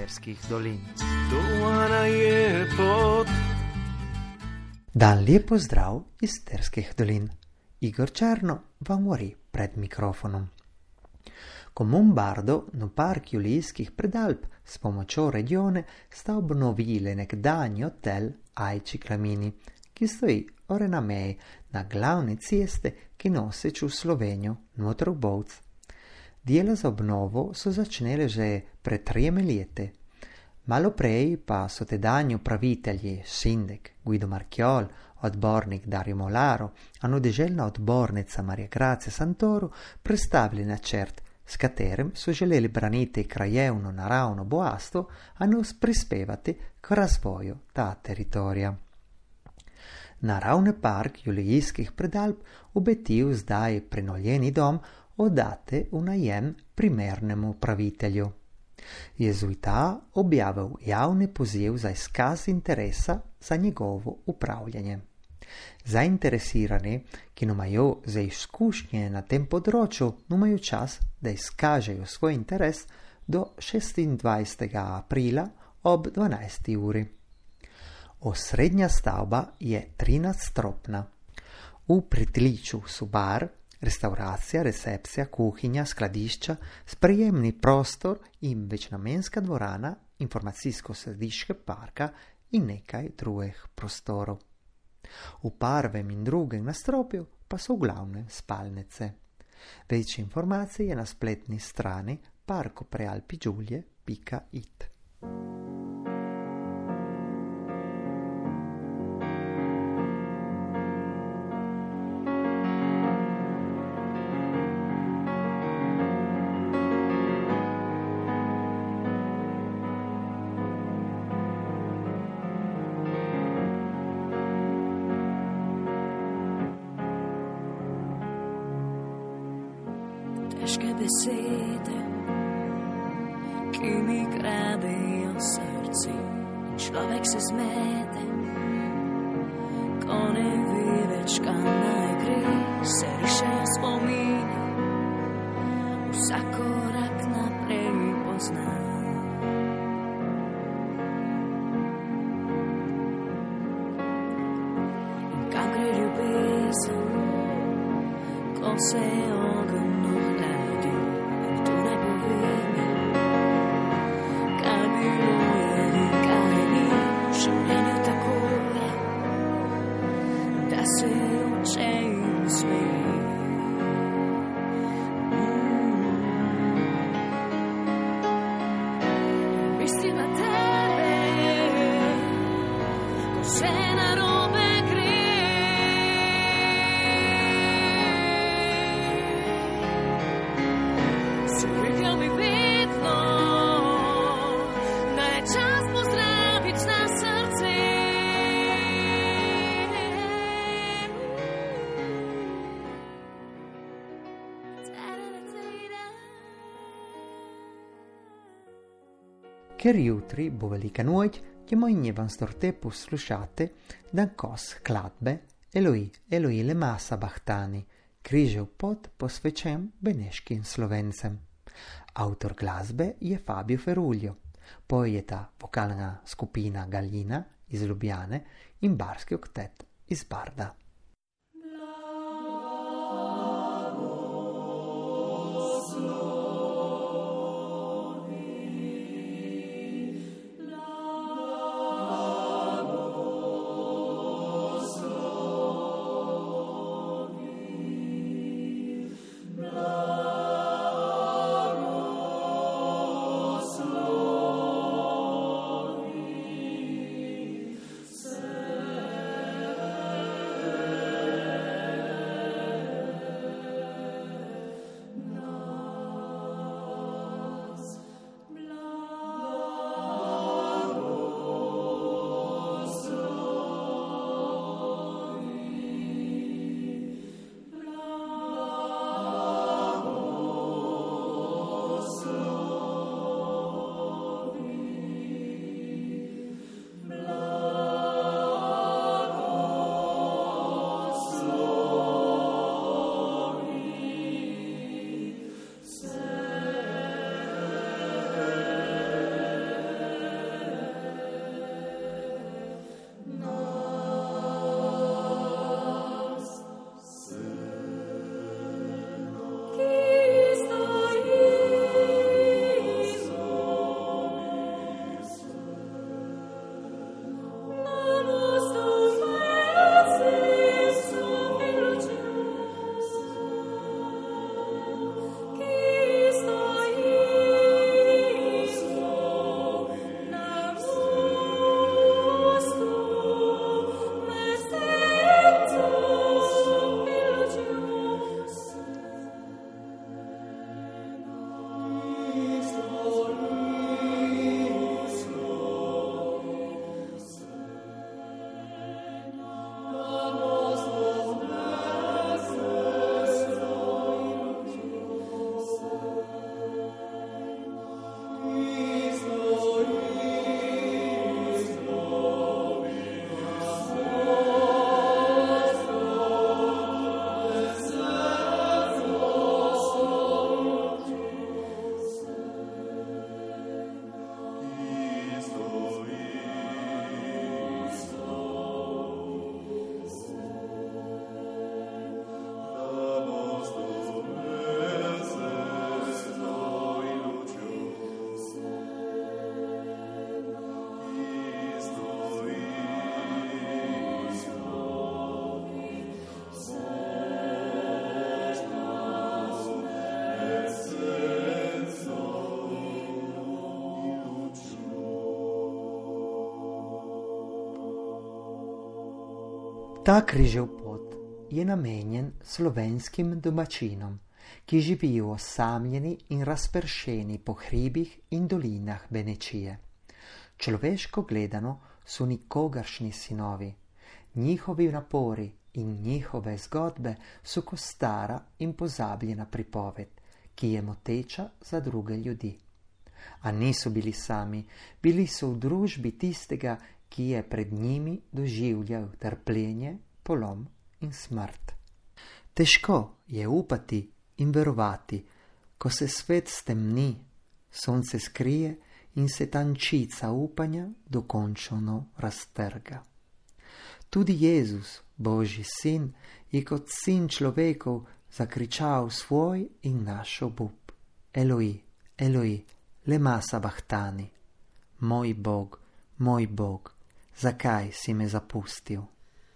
Sterskih dolin. Dan lijep pozdrav iz Sterskih dolin. Igor Černo vam govori pred mikrofonom. Komumbardo no park Julijskih predalp s pomočjo regione sta obnovili nekdanji hotel Ajči Klamini, ki stoji ore na meji na glavni ceste, ki noseč v Slovenijo noter v Bovc. Dela za obnovo so začnele že pred 3 leti. Malo prej pa so tedanji upravitelji Šindek, Guido Marchiol, odbornik Dario Molaro, a deželna odbornica Marija Grazia Santoro predstavili načrt, s katerim so želeli braniti krajevno naravno bogatstvo, a nos prispevati k razvoju ta teritorija. Naravni park Julijskih predalp obetil zdaj prenoljeni dom oddate v najem primernemu upravitelju. Jezuita objavil javni poziv za izkaz interesa za njegovo upravljanje. Zainteresirani, ki imajo za izkušnje na tem področju, imajo čas, da izkažejo svoj interes do 26. aprila ob 12. uri. Osrednja stavba je 13-stropna. V pritličju so bar, restauracija, recepcija, kuhinja, skladišča, sprejemni prostor in večnamenska dvorana, informacijsko središče parka in nekaj drugih prostorov. V prvem in drugem nadstropju pa so glavne spalnice. Več informacij je na spletni strani parkoprealpigiulie.it. Težke besede, ki mi kradejo srce, in človek se zmede, ko ne ve več, kam naj gre, se rišejo spomini, vsak korak naprej pozna. In kam gre ljubezen, ko se ogenj Ker jutri bo velika noč, ćemo vam storte poslušati dan kos skladbe Eloi, Eloi le masa bahtani, križev pot posvečen beneškim Slovencem. Autor glasbe je Fabio Ferulio, pojeta vokalna skupina Galina iz Ljubljane in barski oktet iz Barda. Ta križev pot je namenjen slovenskim domačinom, ki živijo osamljeni in razpršeni po hribih in dolinah Benečije. Človeško gledano so nikogaršnji sinovi. Njihovi napori in njihove zgodbe so kot stara in pozabljena pripoved, ki je moteča za druge ljudi. A niso bili sami, bili so v družbi tistega, ki je pred njimi doživljal trpljenje, polom in smrt. Težko je upati in verovati, ko se svet stemni, sonce skrije in se tančica upanja dokončno raztrga. Tudi Jezus, Božji sin, je kot sin človekov zakričal svoj in naš obup. Eloi, Eloi, lema sabachtani. Moj Bog, zakaj si me zapustil?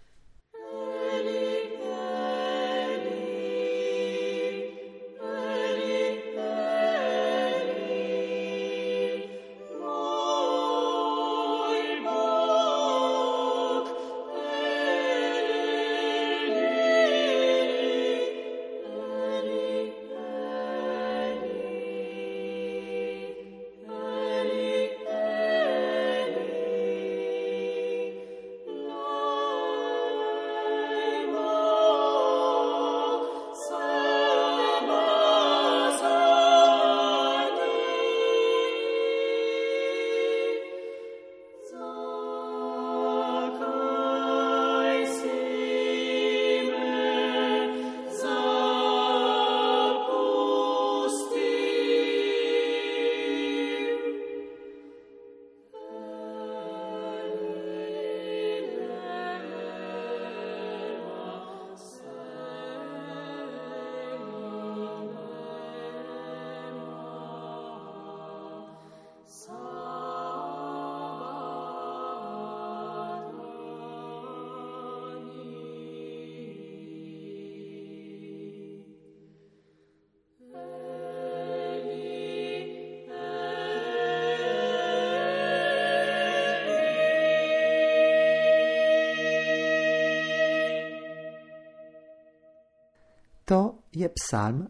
To je psalm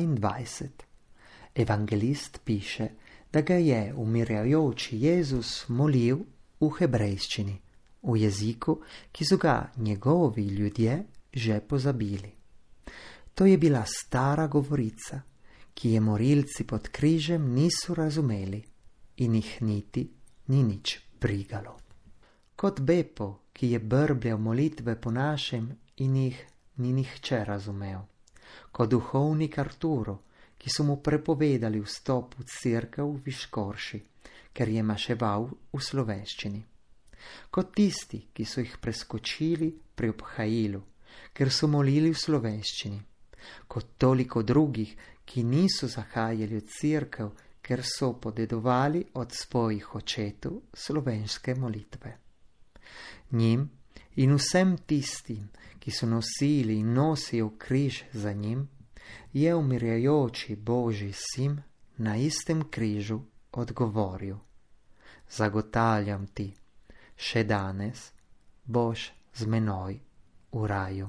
22. Evangelist piše, da ga je umirjajoči Jezus molil v hebrejščini, v jeziku, ki so ga njegovi ljudje že pozabili. To je bila stara govorica, ki je morilci pod križem niso razumeli in jih niti ni nič brigalo. Kot Bepo, ki je brbljal molitve po našem in jih ni nihče razumel. Kot duhovnik Arturo, ki so mu prepovedali vstop v cerkev v Viškorši, ker je maševal v slovenščini. Kot tisti, ki so jih preskočili pri obhajilu, ker so molili v slovenščini. Kot toliko drugih, ki niso zahajali v cerkev, ker so podedovali od svojih očetov slovenske molitve. Njim in vsem tistim, ki so nosili in nosijo križ za njim, je umirjajoči Božji sin na istem križu odgovoril: Zagotavljam ti, še danes boš z menoj v raju.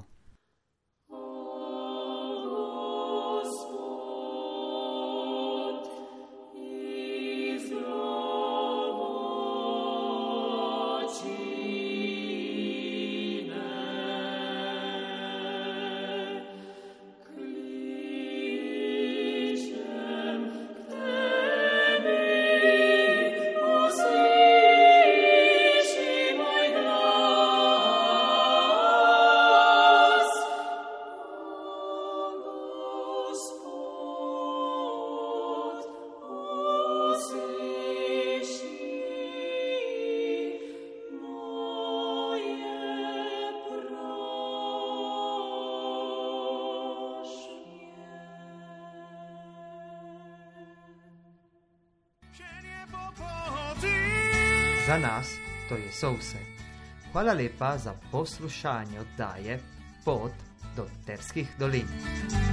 Za nas to je vse. Hvala lepa za poslušanje oddaje Pot do Terskih dolin.